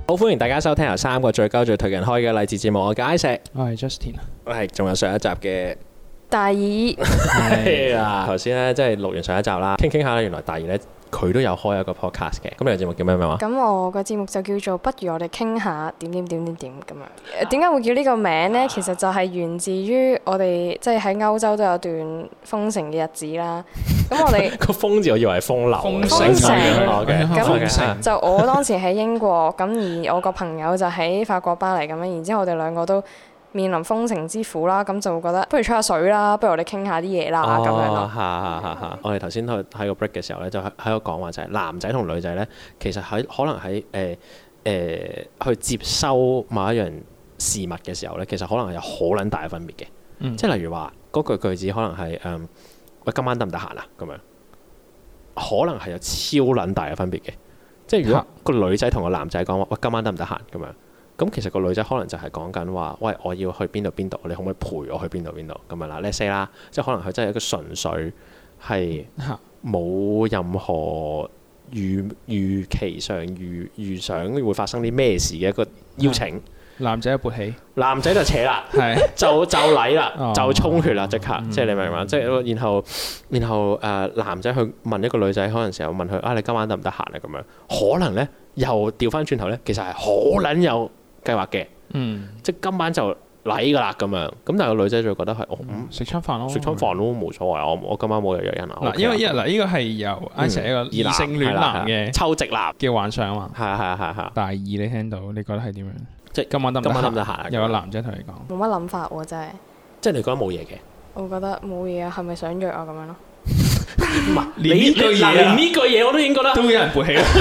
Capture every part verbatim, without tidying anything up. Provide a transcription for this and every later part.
好歡迎大家收聽由三個最高最推人開嘅勵志節目，我係石， 我係 Justin， 我係仲有上一集嘅大二。 係啊，頭先咧即係錄完上一集啦，傾傾下咧，原來大二咧佢都有開一個 podcast 嘅。咁你個節目叫咩名話？ 咁我個節目就叫做不如我哋傾下點點點點點咁樣。點解會叫呢個名呢？其實就係源自於我哋即係喺歐洲都有段封城嘅日子啦。咁我哋個封字我以為係風流， 封城咁咁就我當時喺英國，咁而我個朋友就喺法國巴黎咁樣，然之後我哋兩個都面臨封城之苦啦，咁就會覺得不如吹下水啦，不如我哋傾下啲嘢啦咁樣咯。 係係係係。我哋頭先喺喺個 break 嘅時候咧，就喺喺度講話就係男仔同女仔咧，其實喺可能喺誒誒去接收某一樣事物嘅時候咧，其實可能係有好撚大嘅分別嘅。嗯、即係例如話嗰句句子可能係誒。嗯喂，今晚得唔得閒啊？咁樣可能係有超撚大嘅分別嘅，即係如果個女仔同個男仔講話，喂，今晚得唔得閒？咁樣咁其實個女仔可能就係講緊話，喂，我要去邊度邊度，你可唔可以陪我去邊度邊度咁樣啦？Let's say啦，即係可能佢真係一個純粹係冇任何預預期上預預想會發生啲咩事嘅一個邀請。 男仔一勃起， 男仔就扯啦，就就禮啦，就充血啦，即刻，即係你明唔明？即係然後然後誒男仔去問一個女仔，可能時候問佢啊，你今晚得唔得閒啊？咁樣可能咧又調翻轉頭咧，其實係好撚有計劃嘅，即係今晚就禮㗎啦咁樣。咁但係個女仔就覺得係哦， 食餐飯咯， 食餐飯咯，冇所謂。我我今晚冇約約人啊。 嗱，因為因為嗱，呢個係由 I 成一個異性戀男嘅抽直男嘅幻想啊嘛。 係啊係啊係啊。 大二你聽到，你覺得係點樣？即係今晚得唔今晚得唔得閒？ 有個男仔同你講， 冇乜諗法喎，真係。 即係你覺得冇嘢嘅？ 我覺得冇嘢啊，係咪想約啊咁樣咯？ 唔係，連呢句嘢，連呢句嘢我都已經覺得都有人勃起啦。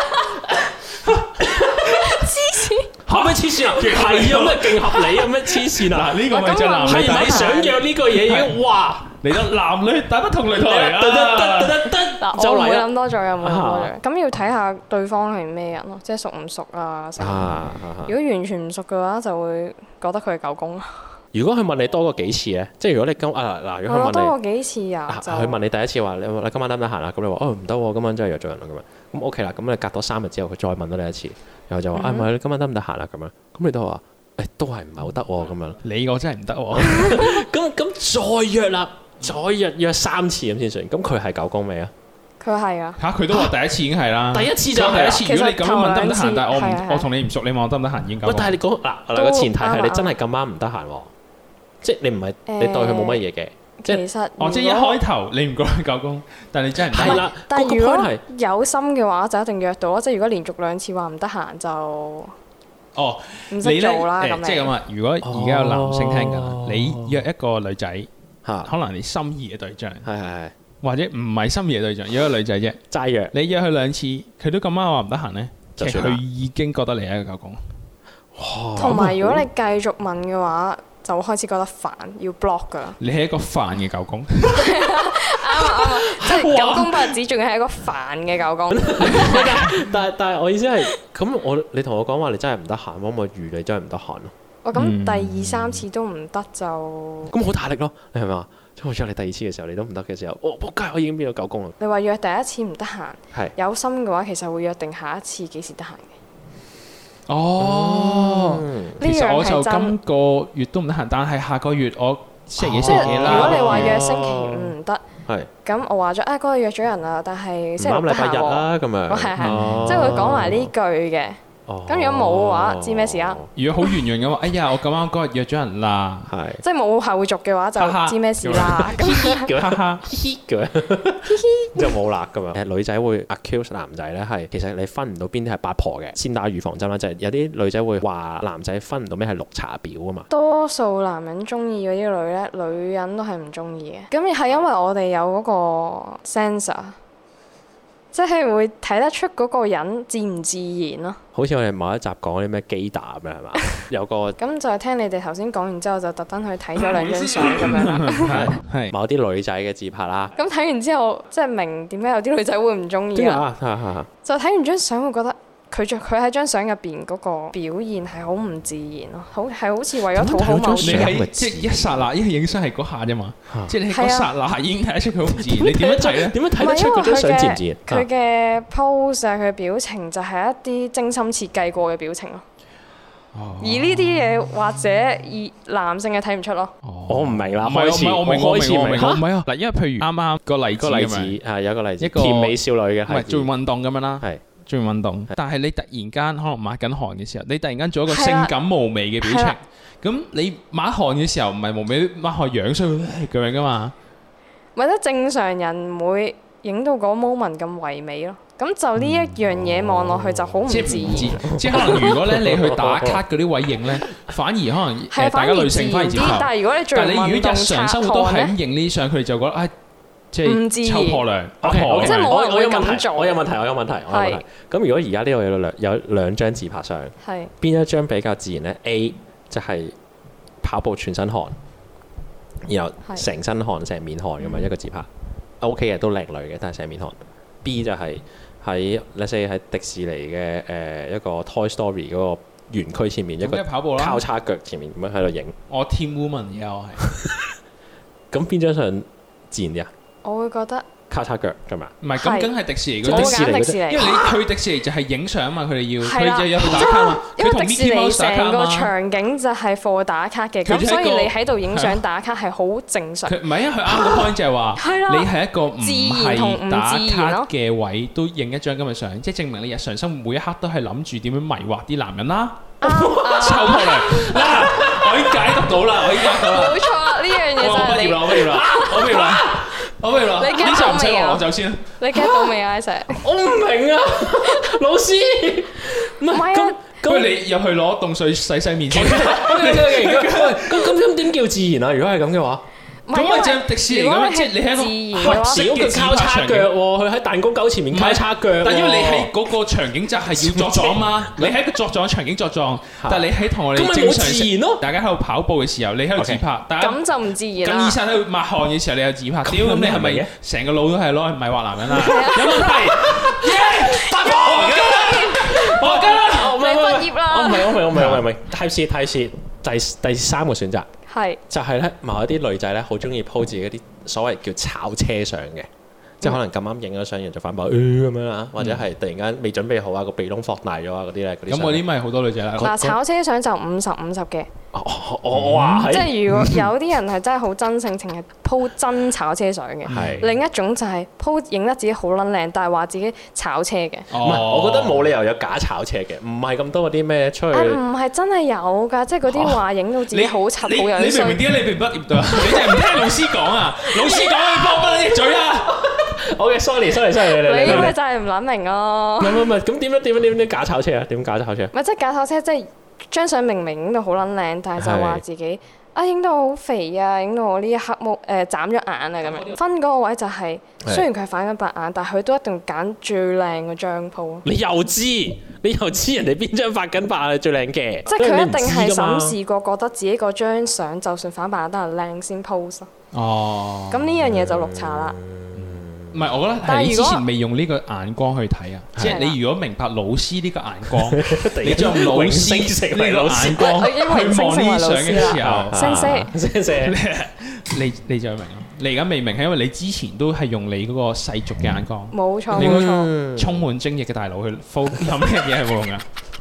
黐線！ 嚇咩黐線啊？係有咩勁合理啊？咩黐線啊？ 嗱，呢個咪就男女係咪想約呢個嘢已經哇？ 嚟到男女大不同擂台啊！ 嗱，我唔會諗多咗，又唔會諗多咗。咁要睇下對方係咩人咯，即係熟唔熟啊？如果完全唔熟嘅話，就會覺得佢係狗公。 如果佢問你多過幾次咧，即係如果你今啊嗱，如果佢問你多過幾次啊， 佢問你第一次話你你今晚得唔得閒啊？咁你話哦唔得喎，今晚真係約咗人啦咁樣。咁 OK 啦，咁你隔多三日之後佢再問多你一次，然後就話啊唔係你今晚得唔得閒啊？咁樣，咁你都話誒都係唔係好得喎咁樣。 你我真係唔得喎。 咁咁再約啦。再約約三次咁先算，咁佢係狗公未啊？ 佢係啊！ 嚇，佢都話第一次已經係啦。 第一次就第一次。如果你咁樣問得唔得閒，但係我唔我同你唔熟，你問我得唔得閒已經夠。 喂，但係你講嗱嗱個前提係你真係咁啱唔得閒喎，即係你唔係你對佢冇乜嘢嘅。 其實哦，即係一開頭你唔覺得狗公，但係你真係唔得。 係啦， 但係如果有心嘅話，就一定約到咯。即係如果連續兩次話唔得閒就哦唔識做啦咁樣。 即係咁啊！如果而家有男性聽緊，你約一個女仔。可能你心儀嘅對象， 係係係， 或者唔係心儀嘅對象，約一個女仔啫， 齋約。 你約佢兩次，佢都咁啱話唔得閒咧，其實佢已經覺得你係一個狗公。 同埋如果你繼續問嘅話，就開始覺得煩，要 block 噶啦。 你係一個煩嘅狗公。 啱啊啱啊，即係狗公不止，仲要係一個煩嘅狗公。 但係但係我意思係，咁我你同我講話你真係唔得閒，可唔可以預你真係唔得閒咯？ 哦，咁第二三次都唔得就咁好大力咯，你係咪啊？即係我約你第二次嘅時候，你都唔得嘅時候，我仆街，我已經變咗狗公啦。 你話約第一次唔得閒， 係有心嘅話，其實會約定下一次幾時得閒嘅。 哦，其實我就今個月都唔得閒，但係下個月我星期幾星期幾啦。 如果你話約星期五唔得， 係咁我話咗啊，嗰個約咗人啦，但係星期六得閒喎。 禮拜日啦，咁樣。 係係，即係會講埋呢句嘅。咁如果冇嘅話，知咩事啊？ 如果好圓潤嘅話，哎呀，我咁啱嗰日約咗人啦， 係即係冇後續嘅話，就知咩事啦。 咁哈哈，嘻嘅，就冇啦咁樣。誒女仔會 accuse 男仔咧，係其實你分唔到邊啲係八婆嘅，先打預防針啦。就係有啲女仔會話男仔分唔到咩係綠茶婊啊嘛。多數男人中意嗰啲女咧，女人都係唔中意嘅。咁係因為我哋有嗰個 sensor。即係會睇得出嗰個人自唔自然咯。好似我哋某一集講啲咩基達咁樣係嘛？有個咁就係聽你哋頭先講完之後，就特登去睇咗兩張相咁樣啦。係某啲女仔嘅自拍啦。咁睇完之後，即係明點解有啲女仔會唔中意啦。就睇完張相會覺得佢著佢喺張相入邊嗰個表現係好唔自然咯，好係好似為咗討好某啲人。 你係即係一剎那，因為影相係嗰下啫嘛，即係你嗰剎那已經睇得出佢好唔自然。你點樣睇咧？ 點樣睇得出嗰張相自唔自然？ 佢嘅 pose 啊，佢嘅表情就係一啲精心設計過嘅表情咯。而呢啲嘢或者而男性係睇唔出咯。 我唔明啦， 唔係開始我明開始明， 唔係啊嗱，因為譬如啱啱個例子個例子係有個例子， 一個甜美少女嘅唔係做運動咁樣啦， 係做運動，但係你突然間可能抹緊汗嘅時候，你突然間做一個性感無媚嘅表情，咁你抹汗嘅時候唔係無媚抹汗樣衰咁樣噶嘛？ 或者正常人唔會影到嗰 moment 咁唯美咯。咁就呢一樣嘢望落去就好唔自然。 即係可能如果咧你去打卡嗰啲位影咧，反而可能誒大家女性反而接受。 但係如果你做運動， 但係你如果日常生活都係咁影呢啲相，佢哋就覺得啊，即係抽破涼。 O K， 即係冇人我有問題， 會咁做。 我有問題，我有問題，我有問題。咁如果而家呢度有兩有兩張自拍相，邊一張比較自然咧 ？A 就係跑步全身汗，然後成身汗、成面汗咁樣一個自拍 ，O K 嘅都靚女嘅，但係成面汗。B 就係喺 let's say 喺迪士尼嘅誒一個 Toy Story 嗰個園區前面一個跑步啦， 交叉腳前面咁樣喺度影。 我 Team Woman 而家我係。 咁邊張相自然啲啊？ 我會覺得交叉腳係咪？ 唔係，咁梗係迪士尼嗰啲。 啲。 迪士尼， 因為你去迪士尼就係影相啊嘛，佢哋要佢就有去打卡嘛。 因為迪士尼成個場景就係 for 打卡嘅，咁所以你喺度影相打卡係好正常。 佢唔係，因為佢啱個 point 就係話，你係一個唔係打卡嘅位都影一張咁嘅相，即係證明你日常生活每一刻都係諗住點樣迷惑啲男人啦。抽破涼嗱，我已經解讀到啦，我已經解讀到啦。 冇錯，呢樣嘢就係你。 我畢業啦，我畢業啦，我畢業啦。 你 get 到未啊？ 我走先。 你 get 到未啊？Isaac， 我唔明啊，老師。 唔係啊。 不如你入去攞凍水洗洗面先。 咁咁咁點叫自然啊？如果係咁嘅話？ 咁咪就迪士尼咁，即係你喺一個小嘅交叉腳喎，佢喺彈弓狗前面交叉腳。 但因為你喺嗰個場景就係要作狀嘛，你喺個作狀場景作狀，但係你喺同我哋正常大家喺度跑步嘅時候，你喺度自拍， 咁就唔自然啦。 咁醫生喺度抹汗嘅時候，你又自拍，屌咁你係咪成個腦都係攞嚟迷惑男人啊？有問題？八科我跟啦， 你畢業啦。 我唔係，我唔係，我唔係，我唔係。Type C Type C，第第三個選擇。 係就係咧，某一啲女仔咧，好中意 po 自己嗰啲所謂叫炒車相嘅，即係可能咁啱影咗相，然後就反駁咁樣啦，或者係突然間未準備好啊，個鼻窿放大咗啊嗰啲咧，嗰啲。咁嗰啲咪好多女仔啦。 嗱，炒車相就五十五十嘅。 我話即係如果有啲人係真係好真性情，係 po 真炒車相嘅。另一種就係 po 影得自己好撚靚，但係話自己炒車嘅。 唔係，我覺得冇理由有假炒車嘅，唔係咁多嗰啲咩出去。 唔係真係有㗎，即係嗰啲話影到自己好柒好樣衰。 你明唔明點解你未畢業到啊？你真係唔聽老師講啊！老師講你幫不你嘴啊！ 好嘅，sorry，sorry，sorry，你你咪就係唔撚明咯。 唔係唔係，咁點樣點樣點樣假炒車啊？點假炒車？ 唔係即係假炒車，即係。張相明明影到好撚靚，但係就話自己啊影到好肥啊，影到我呢一刻冇誒眨咗眼啊咁樣。分嗰個位就係雖然佢係反緊白眼，但係佢都一定揀最靚嗰張 po。 你又知，你又知人哋邊張發緊白眼係最靚嘅？ 即係佢一定係審視過，覺得自己嗰張相就算反白眼都係靚先 post。 哦。 咁呢樣嘢就綠茶啦。 唔係，我覺得係你之前未用呢個眼光去睇啊！即係你如果明白老師呢個眼光，你就用老師呢個眼光去望呢啲相嘅時候， 星星星星， 你你就明咯。你而家未明係因為你之前都係用你嗰個世俗嘅眼光， 冇錯冇錯， 充滿精液嘅大腦去 focus 有咩嘢係冇用噶？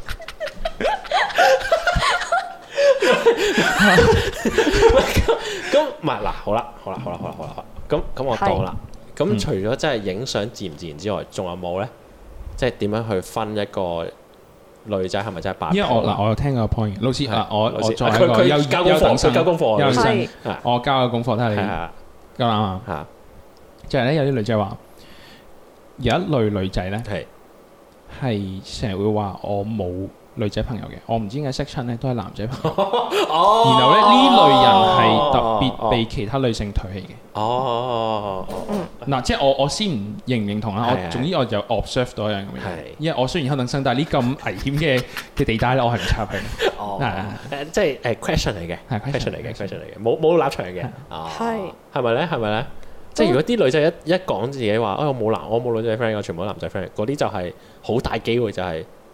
咁唔係嗱，好啦好啦好啦好啦好啦，咁咁我當啦。咁除咗真係影相自唔自然之外，仲有冇咧？即係點樣去分一個女仔係咪真係八？ 因為我嗱，我有聽個 point，老師嗱，我我作為一個佢交功課，佢交功課， 優生，我交個功課睇下你夠啱啊！ 嚇， 就係咧，有啲女仔話，有一類女仔咧係係成日會話我冇女仔朋友嘅，我唔知點解識親咧都係男仔朋友。哦，然後咧呢類人係特別被其他女性唾棄嘅。哦，嗱，即係我我先唔認唔認同啦。我總之我就 observe 到一樣咁嘅嘢。因為我雖然優等生，但係呢咁危險嘅嘅地帶咧，我係唔插去。 哦，誒即係誒 question 嚟嘅，係 question 嚟嘅 question 嚟嘅，冇冇立場嘅。哦，係係咪咧？係咪咧？即係如果啲女仔一一講自己話，哎我冇男我冇女仔 friend，我全部都男仔 friend，嗰啲就係好大機會就係。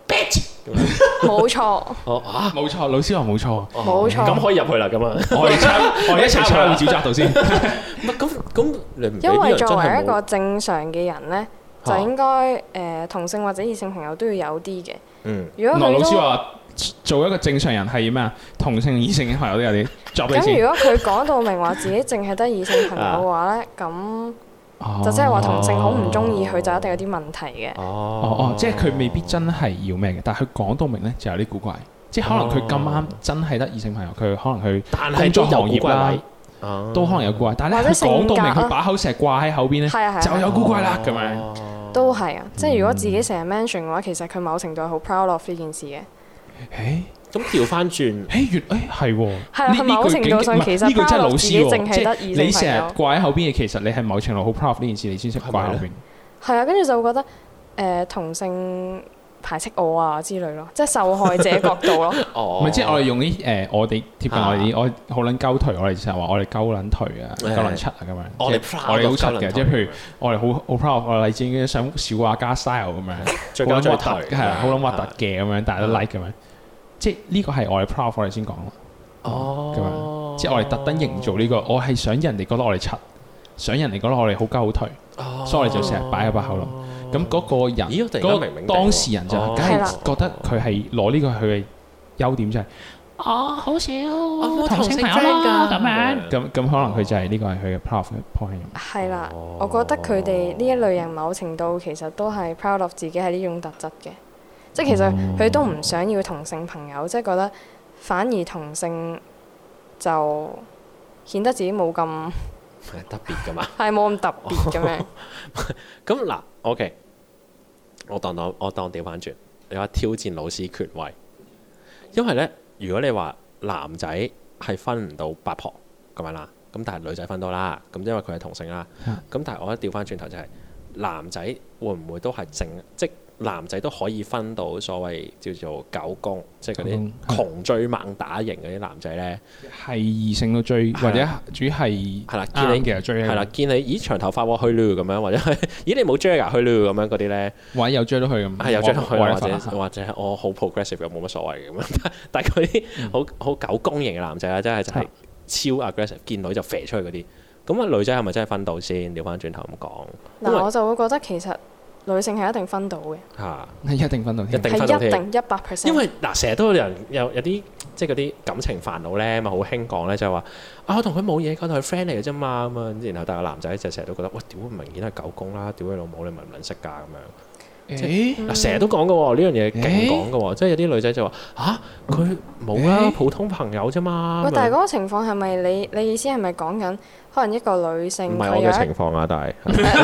bitch 冇錯。 哦啊， 冇錯，老師話冇錯， 冇錯。 咁可以入去啦，咁啊， 我哋抄，我哋一齊抄去沼澤度先。 唔係咁咁，你唔俾因為啲人真作為一個係冇正常嘅人呢，就應該誒同性或者異性朋友都要有啲嘅。 嗯。 如果羅老佢都師話做一個正常人係咩啊？同性異性嘅朋友都有啲作俾你咁， 先。 如果佢講到明話自己淨係得異性朋友嘅話呢，咁就即係話同性好唔中意佢，就一定有啲問題嘅。 哦哦哦，即係佢未必真係要咩嘅，但係佢講到明咧就有啲古怪，即係可能佢咁啱真係得異性朋友，佢可能佢但係工作行都有古怪業啦位， 都可能有古怪，但係或者咧佢講到明， 性格啊佢把口成日掛喺口邊咧， 係啊係啊就有古怪啦咁樣。 哦都係啊，即係如果自己成日 mention 嘅話，其實佢某程度係好 proud of 呢件事嘅。 誒咁調翻轉， 誒越誒係喎， 係啊呢某程度上呢句其實呢句真係 proud 老 of 師自己淨喎，即係係得異性朋友你成日掛喺口邊嘅，其實你係某程度好 proud of 呢件事，你先識掛喺口邊。 係啊，跟住就會覺得誒、呃、同性排斥我啊之類咯，即係受害者角度咯。 哦唔係，即係我哋用啲誒，我哋貼近我哋啲，我好撚鳩頹，我哋成日話我哋鳩撚頹啊，鳩撚柒啊咁樣。 我哋即係我哋好柒嘅，即係譬如我哋好好 proud，我哋勵志鷹想小畫家 style 咁樣， 最好撚核鳩最頹突，係啊，好撚核突嘅咁樣，大家都 like 咁樣。即係呢個係我哋 proud，我哋先講咯。 哦咁樣，即係我哋特登營造呢個，我係想人哋覺得我哋柒，想人哋覺得我哋好鳩好頹， 哦所以我哋就成日擺喺把口度。咁嗰個人， 咦我突然間嗰明明個當事人就哦梗係啦係覺得佢係攞呢個係佢嘅優點，就係啊好少同性朋友啦咁樣。咁咁可能佢就係呢個係佢嘅 proud 嘅 point。 係啦，我覺得佢哋呢一類人某程度其實都係 proud of 自己係呢種特質嘅，即係其實佢都唔想要同性朋友，即係覺得反而同性就顯得自己冇咁係特別噶嘛。 係冇咁特別咁樣。 咁嗱，OK，我當當我當調翻轉，你話挑戰老師權威，因為咧，如果你話男仔係分唔到八婆咁樣啦，咁但係女仔分到啦，咁因為佢係同性啦，咁但係我覺得調翻轉頭就係、男仔會唔會都係正即男仔都可以分到所謂叫做狗公，即係嗰啲窮追猛打型嗰啲男仔咧， 係異性都追，或者主要係係啦， 啱見你嘅追， 係啦，見你咦長頭髮喎去咯咁樣，或者係咦你冇追㗎去咯咁樣嗰啲咧， 或者有追到佢咁， 係有追到佢，或者者或者係我好 progressive 又冇乜所謂嘅咁樣，但係嗰啲好好狗公型嘅男仔咧，真係就係超 aggressive，見女就飛出去嗰啲，咁啊女仔係咪真係分到先？調翻轉頭咁講，因為嗱，我就會覺得其實女性係一定分到嘅， 嚇。 一定分到添， 一定分到係一添定一百 percent。 因為嗱，成日都有人有有啲即係嗰啲感情煩惱咧，咪好興講咧，就係話啊，我同佢冇嘢，我同佢 friend 嚟嘅啫嘛咁啊。然後但係個男仔就成日都覺得，喂，屌明顯係狗公啦，屌你老母，你咪唔撚識㗎咁樣。 誒嗱，成日都講嘅喎，呢樣嘢勁講嘅喎，即係有啲女仔就話吓，佢冇啦，普通朋友啫嘛。 喂， 咁樣但係嗰個情況係咪你你意思係咪講緊可能一個女性唔係我嘅佢有一情況啊，但係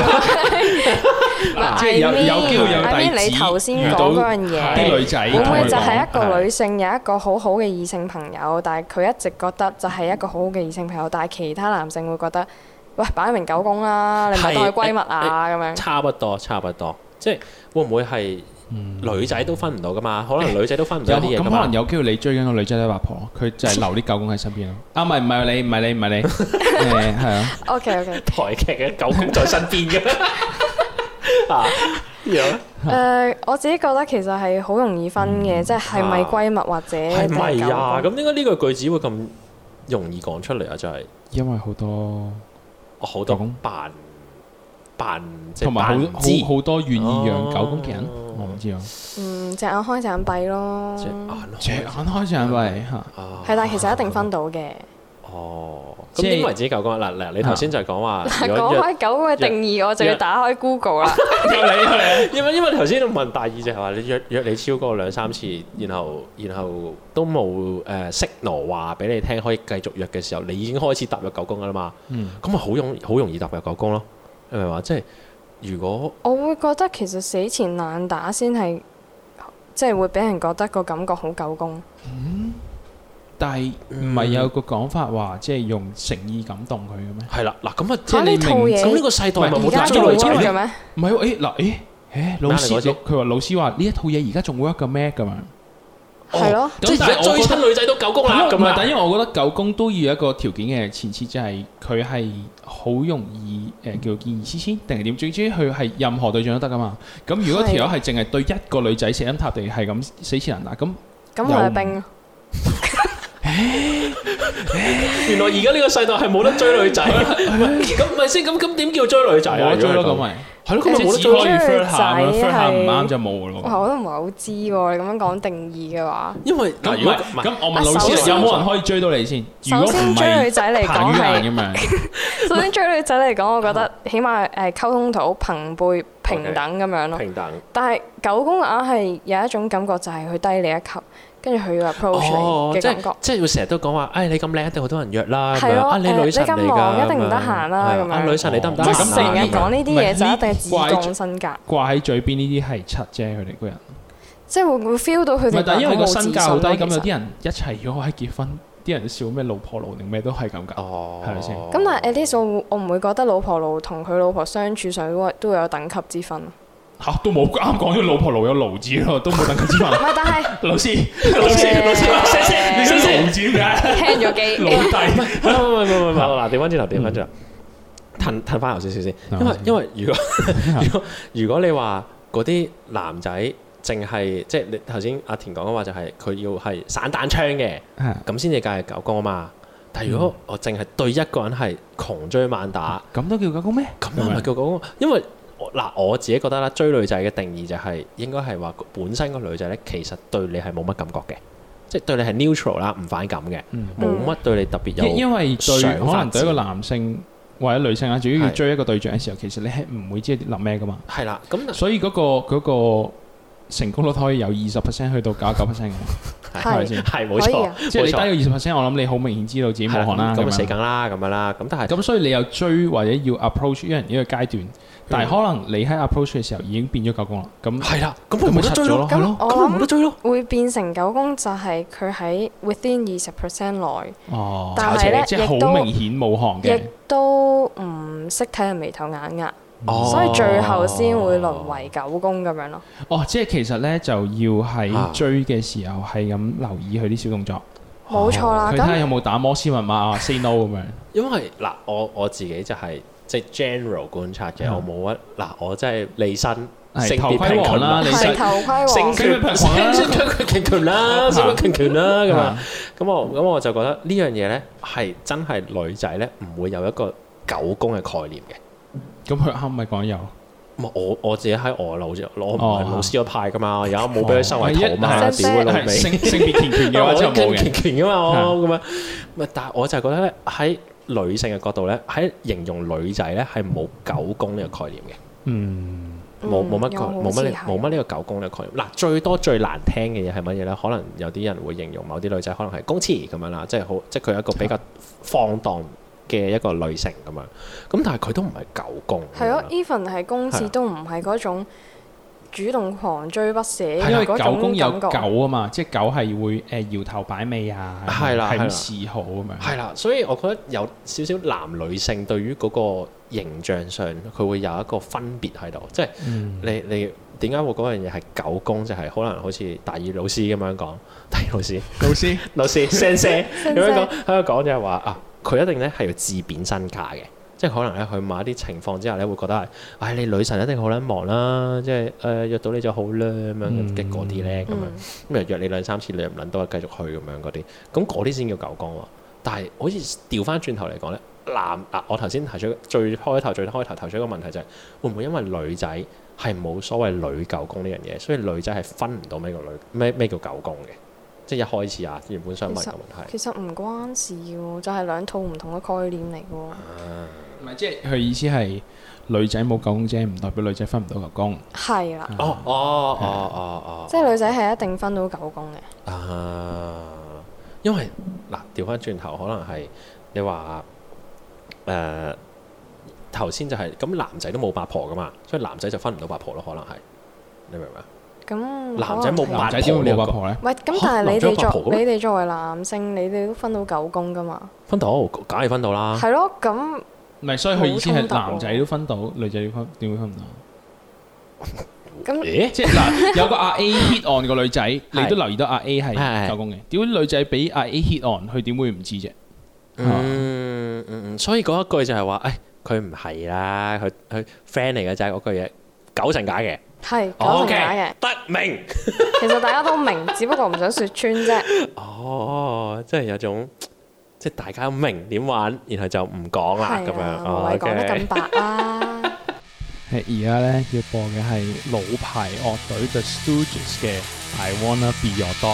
即係有有機會有 I mean， 弟子你頭先遇到講嗰樣嘢啲女仔， 會唔會就係係一個女性有一個好好嘅異性朋友，但係佢一直覺得就係一個好好嘅異性朋友，但係其他男性會覺得，喂，擺明狗公啦，你唔係當佢閨蜜啊咁樣。 差不多，差不多，即係會唔會係女仔都分唔到噶嘛？可能女仔都分唔到有咁可啲嘢噶嘛能。有機會你追緊個女仔都係八婆，佢就係留啲狗公喺身邊咯。啊，唔係唔係你，唔係你，唔係你，誒係啊。 OK OK。 台劇嘅狗公在身邊嘅啊，樣誒，我自己覺得其實係好容易分嘅，即係係咪閨蜜或者係咪定係啊？ 狗公咁點解呢個句子會咁容易講出嚟啊？就係因為好多我好多狗公扮扮即係同埋好扮唔知好好多願意養狗公嘅人， 哦我唔知啊。 嗯，隻眼開隻眼閉咯。 隻眼隻眼開隻眼閉嚇， 啊係，但係其實一定分到嘅。 哦，咁即係點為之狗公啊？嗱嗱，你頭先就係講話， 嗱， 如果約講開狗公嘅定義，我就要打開 Google 啦。 因為因為頭先問大二就係話你約約你超過兩三次，然後然後都冇誒 signal 話俾你聽可以繼續約嘅時候，你已經開始踏入狗公噶啦嘛。 嗯， 咁咪好容好容易踏入狗公咯。你明唔明話？即係如果我會覺得其實死纏爛打先係，即係會俾人覺得個感覺好狗公。 但係唔係有個講法話，即係用誠意感動佢嘅咩？ 係啦，嗱咁啊， 即係你明呢套嘢咁呢個世代咪唔係冇而家仲得追女仔 work 咧嘅？咩？ 唔係喎，誒嗱，誒誒老師咩嚟嗰次佢話老師話呢一套嘢而家仲 work 嘅咩咁樣？ 係咯， 即係而家追親女仔都狗公啦咁啊！ 唔係，但因為我覺得狗公都要有一個條件嘅前設，就係佢係好容易誒叫做見異思遷，定係點？總之佢係任何對象都得噶嘛。咁如果條友係淨係對一個女仔死心塌地係咁死纏爛打，咁咁我係兵。 原來而家呢個世代係冇得追女仔，咁唔係先咁咁點叫追女仔啊？追咯咁咪係咯，咁咪冇得追追女仔係唔啱就冇咯。 我都唔係好知喎，你咁樣講定義嘅話， 因為咁如果咁我問老師有冇人可以追到你先？ 首先追女仔嚟講係，首先追女仔嚟講，我覺得起碼誒溝通到朋輩平等咁樣咯。 平等。 但係狗公硬係有一種感覺，就係佢低你一級。跟住佢要 approach 你嘅感覺， 即係會成日都講話，誒你咁靚一定好多人約啦， 係咯， 啊你女神嚟㗎， 你咁忙一定唔得閒啦，咁樣。 啊女神你得唔得閒？ 即係成日講呢啲嘢就一定係自降身價。 掛喺嘴邊呢啲係柒啫，佢哋個人。 即係會會 feel 到佢哋。 唔係，但係因為個身價好低，咁有啲人人一齊咗喺結婚，啲人笑咩老婆奴定咩都係咁㗎，係咪先？ 咁但係 at least 我我唔會覺得老婆奴同佢老婆相處上都都會有等級之分。 嚇都冇啱講咗老婆奴有奴字咯，都冇等級之分。 唔係，但係老師老師老師，聲聲你聲奴字點解？ 聽咗機。 老弟， 唔係唔係唔係嗱，調翻轉頭，調翻轉頭，褪褪翻頭少少先，因為因為如果如果如果你話嗰啲男仔淨係即係你頭先阿田講嘅話，就係佢要係散彈槍嘅，咁先至計係狗公啊嘛。但係如果我淨係對一個人係窮追猛打， 咁都叫狗公咩？ 咁係咪叫狗公？因為嗱，我自己覺得啦，追女仔嘅定義就係應該係話本身個女仔咧，其實對你係冇乜感覺嘅，即係對你係 neutral 啦，唔反感嘅，冇乜對你特別有。 因為對可能對一個男性或者女性啊，主要要追一個對象嘅時候，其實你係唔會知諗咩噶嘛。 係啦，咁所以嗰個嗰個成功率可以由二十 percent 去到九十九 percent 嘅，係咪先？ 係冇錯， 即係你低咗二十 percent，我諗你好明顯知道自己冇可能啦， 咁死梗啦，咁樣啦，咁但係咁所以你又追或者要 approach 一人呢個階段。但係可能你喺 approach 嘅時候已經變咗狗公啦，咁係啦，咁咪冇得追咯， 咁我咁咪冇得追咯。 會變成狗公就係佢喺 within 二十 percent 內， 哦， 但係咧即係好明顯冇行嘅， 亦都唔識睇人眉頭眼額，所以最後先會淪為狗公咁樣咯。 哦，即係其實咧就要喺追嘅時候係咁留意佢啲小動作， 冇錯啦。 佢睇下有冇打摩斯密碼啊 ，say no 咁樣。 因為嗱，我我自己就係。即係 general 觀察嘅，我冇乜嗱，我真係離身性別平權啦， 係頭盔王， 性別平權啦，性別平權啦咁啊，咁我咁我就覺得呢樣嘢咧係真係女仔咧唔會有一個狗公嘅概念嘅。 咁佢啱咪講有？ 我我自己喺我老我唔係老師嗰派噶嘛，而家冇俾佢收為徒嘛，屌佢老味！ 性性別平權嘅話就冇嘅， 平權噶嘛我咁樣，咪但係我就覺得咧喺女性嘅角度咧，喺形容女仔咧係冇狗公呢個概念嘅， 嗯， 冇冇乜冇乜冇乜呢個狗公呢個概念。嗱，最多最難聽嘅嘢係乜嘢咧？可能有啲人會形容某啲女仔可能係公廁咁樣啦，即係好即係佢係一個比較放蕩嘅一個女性咁樣。咁但係佢都唔係狗公。 係咯 ，even 係公廁都唔係嗰種主動狂追不捨， 因為狗公有狗啊嘛，即係狗係會誒搖頭擺尾啊， 係啦， 係咁示好咁樣。 係啦，所以我覺得有少少男女性對於嗰個形象上，佢會有一個分別喺度，即係你你點解會嗰樣嘢係狗公，就係可能好似大二老師咁樣講，大二老師老師老師先生咁樣講喺度講就係話啊，佢一定咧係要自貶身價嘅。即係可能咧，去某一啲情況之下咧，會覺得係，唉、哎，你女神一定好撚忙啦，即係誒、呃、約到你就好啦咁樣嘅嗰啲咧，咁樣咁又約你兩三次，你又唔撚到繼續去咁樣嗰啲，咁嗰啲先叫狗公喎。但係好似調翻轉頭嚟講咧，男嗱我頭先提出最開頭最開頭提出一個問題就係、是，會唔會因為女仔係冇所謂女狗公呢樣嘢，所以女仔係分唔到咩叫女咩咩叫狗公嘅？即係一開始啊，原本想問嘅問題。 其實唔關事喎，就係、是、兩套唔同嘅概念嚟嘅喎。 唔係、啊，即係佢意思係女仔冇狗公啫，唔代表女仔分唔到狗公。 係啦。 哦哦哦哦哦。 即係女仔係一定分到狗公嘅。 啊，因為嗱調翻轉頭，可能係你話誒頭先就係、是、咁，男仔都冇八婆噶嘛，所以男仔就分唔到八婆咯，可能係你明唔明啊？ 咁男仔冇八仔點會冇八婆咧？ 喂，咁但係你哋作你哋作為男性，你哋都分到狗公噶嘛？ 分到，梗係分到啦。 係咯，咁唔係，所以佢意思係男仔都分到，女仔點分點會分唔到？ 咁即係嗱，有個阿 A hit on 個女仔，你都留意到阿 A 係狗公嘅。點解女仔俾阿 A hit on，佢點會唔知啫？ 嗯嗯，所以嗰一句就係話，誒佢唔係啦，佢佢 friend 嚟嘅啫，嗰句嘢九成假嘅。 係九成假嘅， 得明。 其實大家都明，只不過唔想説穿啫。 哦，即係有種即係大家明點玩，然後就唔講啦咁樣。 唔係講得咁白啦。 係而家咧要播嘅係老牌樂隊 The Stooges 嘅 I Wanna Be Your Dog。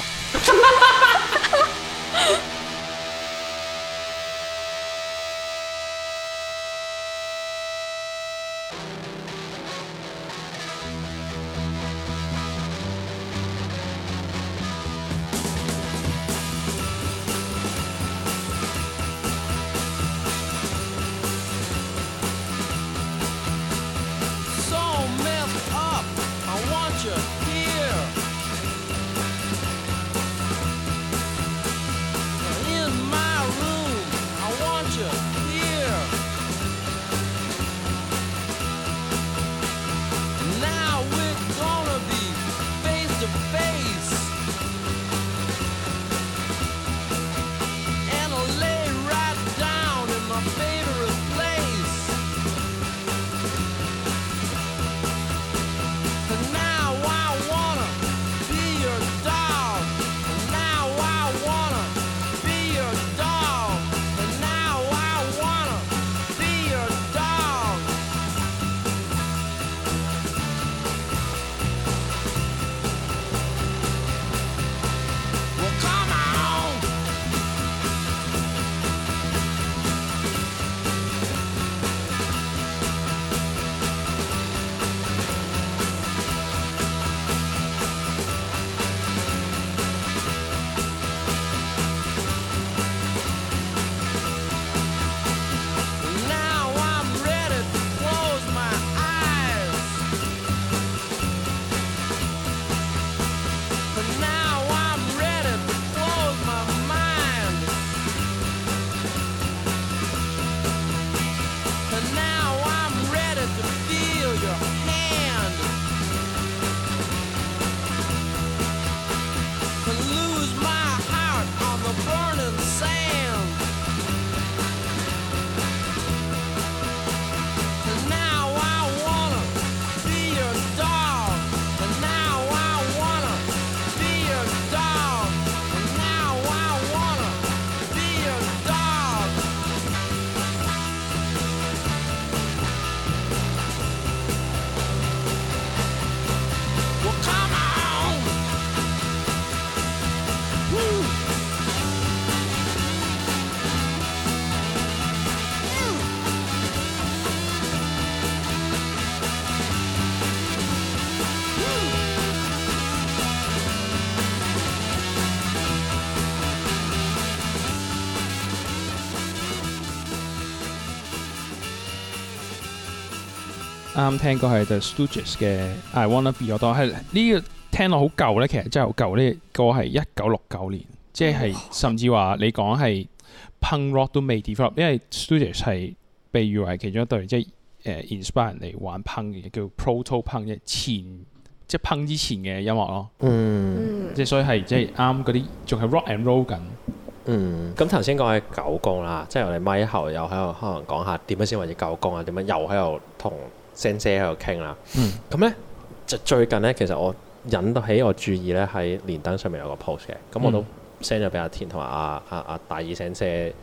啱聽過係 The Stooges 嘅 I Wanna Be Your Dog，係呢個聽落好舊咧，其實真係好舊。呢個歌係一九六九年，即係甚至話你講係 punk rock 都未 develop，因為 Stooges 係被譽為其中一隊即係誒 inspire 人嚟玩 punk 嘅，叫 proto punk，即係前即係 punk 之前嘅音樂咯。嗯，即係所以係即係啱嗰啲仲係 rock and roll 緊。 嗯，咁頭先講起狗公啦，即係我哋咪後又喺度可能講下點樣先為之狗公啊，點樣又喺度同聲姐喺度傾啦。咁咧就最近咧，其實我引到起我注意咧喺連登上面有個 post 嘅，咁我都 send 咗俾阿田同埋阿阿阿大耳聲姐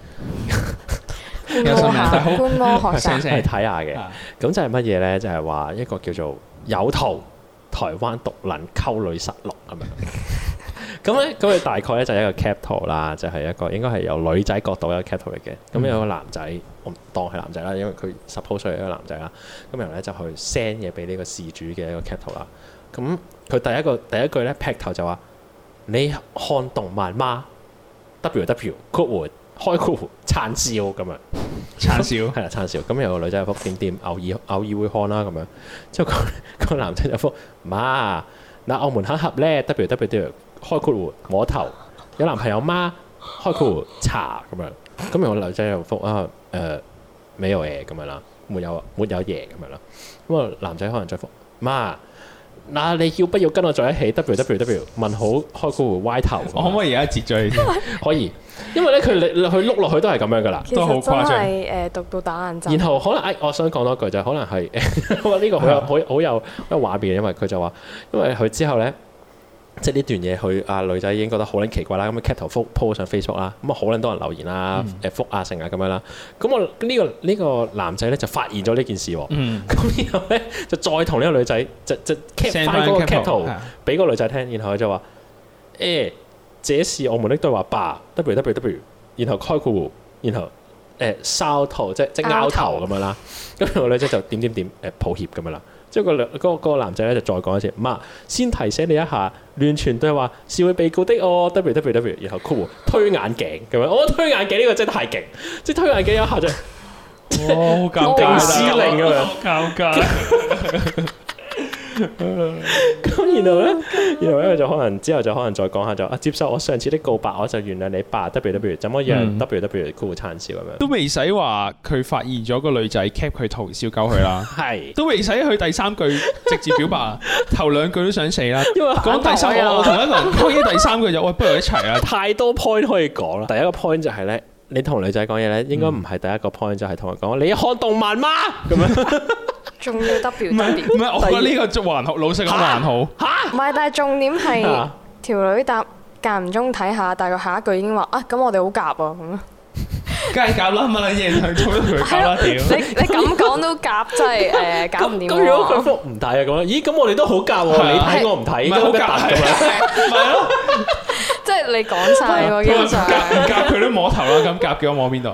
觀摩學生去睇下嘅。咁就係乜嘢咧？就係話一個叫做有圖台灣獨撚溝女實錄咁樣。咁咧，咁佢大概咧就係一個 cap 圖啦，就係、是、一個應該係由女仔角度一個 cap 圖嚟嘅。咁、嗯、有個男仔，我唔當係男仔啦，因為佢 suppose 係一個男仔啦。咁然後咧就去 send 嘢俾呢個事主嘅一個 cap 圖啦。咁佢第一個第一句咧劈頭就話：你看動漫嗎 ？W W 括弧開括弧燦笑咁樣， 燦笑係啦，燦笑。咁有個女仔就覆點點，偶爾偶爾會看啦咁樣。之後個個男仔就覆媽，嗱澳門黑盒咧 W W W。開括弧摸頭，有男朋友嗎？開括弧查咁樣，咁然後女仔又覆啊誒，沒有嘢咁樣啦，沒有沒有嘢咁樣啦。咁啊男仔可能再覆媽， 嗱，你要不要跟我在一起 ？W W W 問號開括弧 Y 頭。 我可唔可以而家截咗你先？ 可以，因為咧佢你佢碌落去都係咁樣噶啦， 都好誇張。其實真係誒讀到打眼震。 然後可能誒，我想講多句就係可能係誒呢個好有好好有好有畫面，因為佢就話，因為佢之後咧。即係呢段嘢，佢啊女仔已經覺得好撚奇怪啦，咁啊 cap 圖覆 po 上 Facebook 啦，咁啊好撚多人留言啦，誒覆啊成啊咁樣啦，咁我呢個呢個男仔咧就發現咗呢件事喎，咁、嗯、然後咧就再同呢個女仔就就 cap 翻嗰個 cap 圖俾個女仔聽，然後佢就話誒、欸，這是我們的對話吧 ，W W W， 然後開括弧，然後誒梢頭即即拗頭咁樣啦，咁個女仔就點點點誒抱歉咁樣啦。即係個兩嗰個男仔咧就再講一次，媽先提醒你一下，亂傳對話是會被告的哦 ，W W W， 然後括弧推眼鏡咁樣，我覺得推眼鏡呢個真係太勁，即係推眼鏡一下就， 哦，好尷尬， 司令咁樣， 尷尬。 咁然後咧，然後咧就可能之後就可能再講下就啊，接受我上次的告白，我就原諒你吧 W W， 怎麼樣 W W 括弧燦笑咁樣， 都未使話佢發現咗個女仔 cap 佢圖笑鳩佢啦，係都未使去第三句直接表白啊，頭兩句都想死啦，因為講第三個我同一個人講嘢第三句就喂，不如一齊啦， 太多 point 可以講啦。第一個 point 就係咧，你同女仔講嘢咧，應該唔係第一個 point 就係同佢講你看動漫嗎咁樣。 仲要 W W， 唔係唔係，我覺得呢個仲還好，老實講還好。 嚇，唔係，但係重點係條女答間唔中睇下，但係佢下一句已經話啊，咁我哋好夾啊咁。 梗係夾啦，乜撚嘢佢做都同佢夾啦屌！ 你你咁講都夾，真係誒搞唔掂。 咁如果佢覆唔睇啊咁樣，咦咁我哋都好夾喎，你睇我唔睇，都好夾咁樣。咪咯， 即係你講晒喎，基本上。 唔夾佢都摸頭啦，咁夾嘅我摸邊度？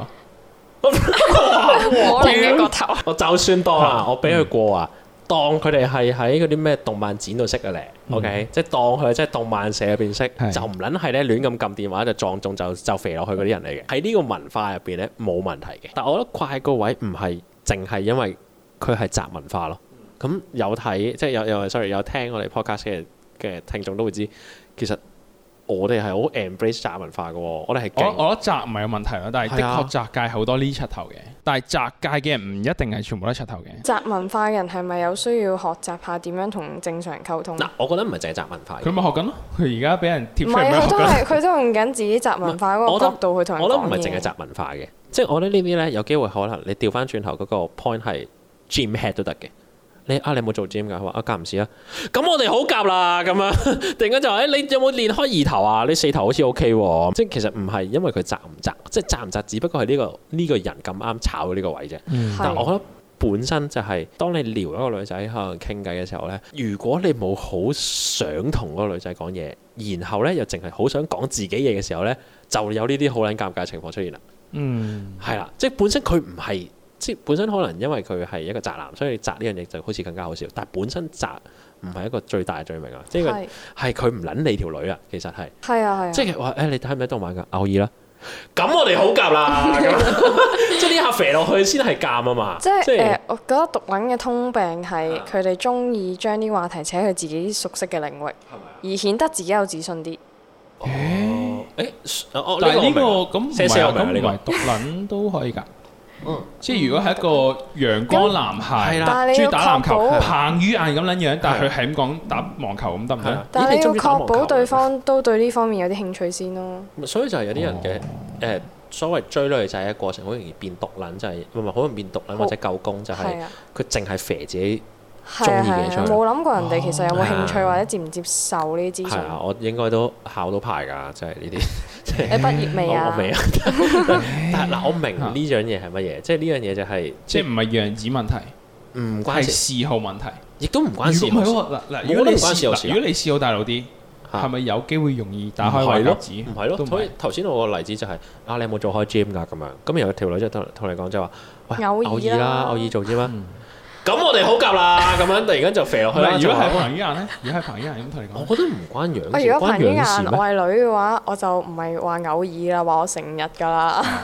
我另一個頭， 我就算當啊，我俾佢過啊，當佢哋係喺嗰啲咩動漫展度識嘅咧，OK，即係當佢即係動漫社入邊識，就唔撚係咧亂咁撳電話就撞中就就肥落去嗰啲人嚟嘅。喺呢個文化入邊咧冇問題嘅，但係我覺得怪個位唔係淨係因為佢係宅文化咯。咁有睇即係有有 sorry 有聽我哋 podcast 嘅嘅聽眾都會知，其實。我哋係好 embrace 宅文化嘅喎，我哋係我我覺得宅唔係有問題咯，但係的確宅界好多呢柒頭嘅，但係宅界嘅人唔一定係全部都柒頭嘅。 宅文化嘅人係咪有需要學習下點樣同正常人溝通？ 嗱，我覺得唔係淨係宅文化。 佢咪學緊咯，佢而家俾人貼出嚟。 唔係，佢都係佢都用緊自己宅文化嗰個角度去同人講嘢。 我覺得唔係淨係宅文化嘅，即係我覺得呢啲咧有機會可能你調翻轉頭嗰個 point 係 gym head 都得嘅。你啊，你有冇做 gym 㗎？佢話啊，夾唔時啊。咁我哋好夾啦，咁樣突然間就話誒，你有冇練開二頭啊？你四頭好似 OK 喎。即係其實唔係因為佢宅唔宅，即係宅唔宅，只不過係呢個呢個人咁啱炒到呢個位啫。嗯、但係我覺得本身就係、是、當你撩一個女仔可能傾偈嘅時候咧，如果你冇好想同嗰個女仔講嘢，然後咧又淨係好想講自己嘢嘅時候咧，就有呢啲好撚尷尬嘅情況出現啦。嗯，係啦，即係本身佢唔係。即係本身可能因為佢係一個宅男，所以宅呢樣嘢就好似更加好笑。但係本身宅唔係一個最大嘅罪名啊！即係係佢唔撚你條女啊，其實係。係啊係啊。即係話誒，你睇唔睇動漫㗎？偶爾啦。咁我哋好夾啦。即係呢下肥落去先係夾啊嘛。即係誒、呃，我覺得毒撚嘅通病係佢哋中意將啲話題扯去自己熟悉嘅領域，而顯得自己有自信啲。 誒誒， 但係呢個咁唔係咁唔係毒撚都可以㗎。嗯，即係如果係一個陽光男孩，中意打籃球，彭于晏咁撚樣，但係佢係咁講打網球咁得唔得？ 但係你要確保對方都對呢方面有啲興趣先咯。 所以就係有啲人嘅誒所謂追女仔嘅過程，好容易變毒撚，就係唔係好容易變毒撚或者夠攻，就係佢淨係肥自己中意嘅出嚟。冇諗過人哋其實有冇興趣或者接唔接受呢啲資訊。係啊，我應該都考到牌㗎，即係呢啲。你畢業未啊？我未啊。但係嗱，我明呢樣嘢係乜嘢，即係呢樣嘢就係即係唔係樣子問題，唔關係嗜好問題， 亦都唔關事。 唔係喎，嗱嗱，如果你試，如果你試好大路啲，係咪有機會容易打開壞格子？ 唔係咯，所以頭先我個例子就係啊，你有冇做開 gym 㗎咁樣？咁有條女就同同你講就話，喂，偶爾啦，偶爾做 gym 啊。咁我哋好夾啦，咁樣突然間就肥落去啦。 如果係彭于晏咧，如果係彭于晏咁同你講， 我覺得唔關樣事。 如果彭于晏我係女嘅話，我就唔係話偶爾啦，話我成日㗎啦。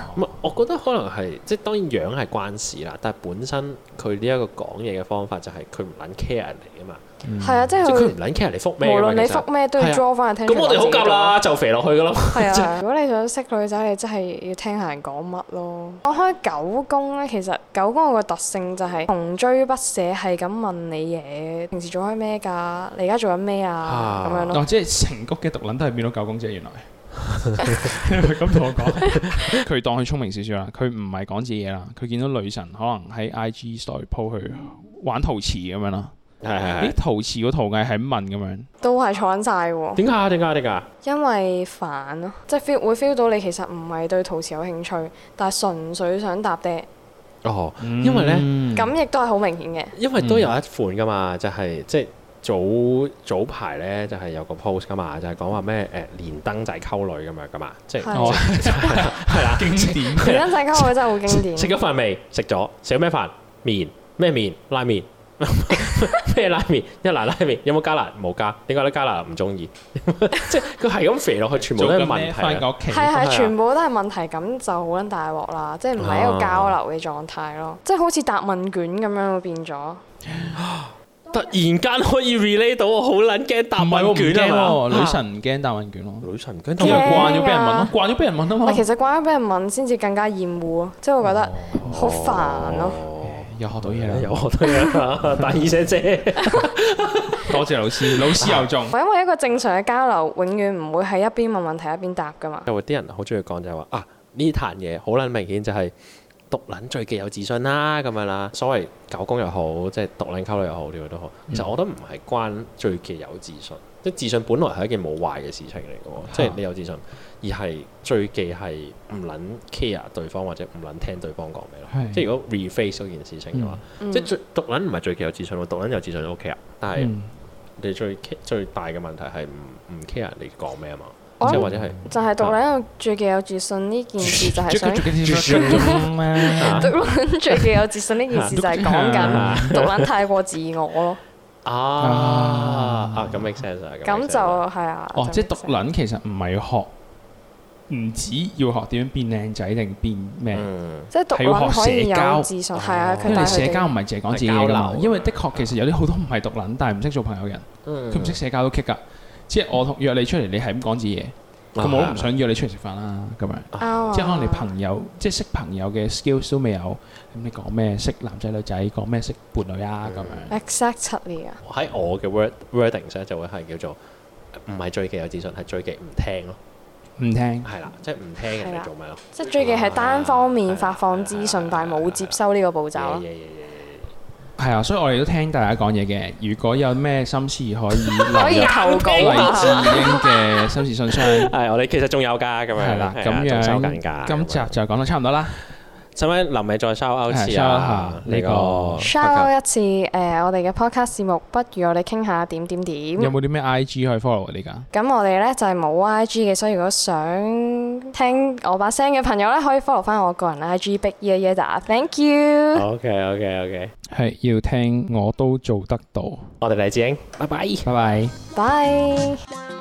我覺得可能係即係當然樣係關事啦，但係本身佢呢一個講嘢嘅方法就係佢唔撚 care 人嚟㗎嘛。 係啊，即係佢唔撚 care 你覆咩， 無論你覆咩都要 draw 翻去聽。 咁我哋好夾啦，就肥落去㗎咯。 係啊，如果你想識女仔，你真係要聽下人講乜咯。講開九宮咧，其實九宮個特性就係窮追不捨，係咁問你嘢，平時做開咩㗎？你而家做緊咩啊？咁樣咯。 哦，即係成谷嘅毒撚都係變到九宮啫，原來。佢咁同我講，佢當佢聰明少少啦，佢唔係講自己嘢啦，佢見到女神可能喺 I G story po 去玩陶瓷咁樣啦。 係係係。 啲陶瓷個陶藝係咁問咁樣， 都係坐緊晒喎。 點解啊？點解？點解？ 因為煩咯，即係 feel 會 feel 到你其實唔係對陶瓷有興趣，但係純粹想搭爹。 哦，因為咧， 咁亦都係好明顯嘅。 因為都有一款噶嘛，就係即係早早排咧，就係有個 post 噶嘛，就係講話咩誒連登仔溝女咁樣噶嘛，即係係啦，經典。 連登仔溝女真係好經典。 食咗飯未？食咗。食咗咩飯？麵咩麵？拉麵。咩拉麵？一蘭拉麵有冇加辣？冇加。點解咧？加辣唔中意。即係佢係咁肥落去，全部都係問題。 係係，全部都係問題，咁就好撚大鑊啦！即係唔係一個交流嘅狀態咯，即係好似答問卷咁樣會變咗。 突然間可以 relate 到，我好撚驚答問卷啊嘛！ 女神唔驚答問卷咯， 女神唔驚， 因為慣咗俾人問咯，慣咗俾人問啊嘛。 其實慣咗俾人問先至更加厭惡咯，即係會覺得好煩咯。 又學到嘢啦， 又學到嘢啦，大耳姐姐， 多謝老師，老師又中。 因為一個正常嘅交流，永遠唔會係一邊問問題一邊答噶嘛。 因為啲人好中意講就係話啊，呢壇嘢好撚明顯就係毒撚最極有自信啦咁樣啦。所謂九宮又好，即係毒撚溝女又好，呢個都好。其實我覺得唔係關最極有自信，即係自信本來係一件冇壞嘅事情嚟嘅喎，即係你有自信。而係最忌係唔撚 care 對方或者唔撚聽對方講咩咯，即係如果 reface 嗰件事情嘅話，嗯、即係最毒撚唔係最忌有自信喎，毒撚有自信都 OK 啊，但係你最最大嘅問題係唔唔 care 你講咩啊嘛，即係或者係就係毒撚有最忌有自信呢件事就係想，毒撚最忌有自信呢件事就係講緊毒撚太過自我咯。 啊啊咁 make sense 啊， 咁就係啊。 哦，即係毒撚其實唔係學。唔止要學點樣變靚仔定變咩， 即係毒撚可以有自信，係啊。 因為社交唔係淨係講自己㗎嘛。因為的確其實有啲好多唔係毒撚，但係唔識做朋友嘅人，佢唔識社交都棘㗎。即係我同約你出嚟，你係咁講自己嘢，咁我都唔想約你出嚟食飯啦。咁樣，即係可能你朋友即係識朋友嘅 skills 都未有，咁你講咩識男仔女仔，講咩識伴侶啊咁樣。 Exactly 啊！ 喺我嘅 word wording 咧就會係叫做唔係最忌有自信，係最忌唔聽咯。 唔聽係啦，即係唔聽人哋做咩咯？ 即係最忌係單方面發放資訊，但係冇接收呢個步驟咯。 係啊，所以我哋都聽大家講嘢嘅。如果有咩心事可以可以投稿勵志鷹嘅心事信箱。 係，我哋其實仲有㗎，咁樣係啦，咁樣收緊㗎。 今集就講到差唔多啦。 使唔使臨尾再 shout out 一次啊？呢個 shout out 一次誒，我哋嘅 podcast 節目，不如我哋傾下點點點。 有冇啲咩 I G 可以 follow 你㗎？ 咁我哋咧就係冇 I G 嘅，所以如果想聽我把聲嘅朋友咧，可以 follow 翻我個人 I G Big Ear Yada。Thank you。 OK OK OK。 係要聽我都做得到。 我哋勵志鷹，拜拜， 拜拜， 拜。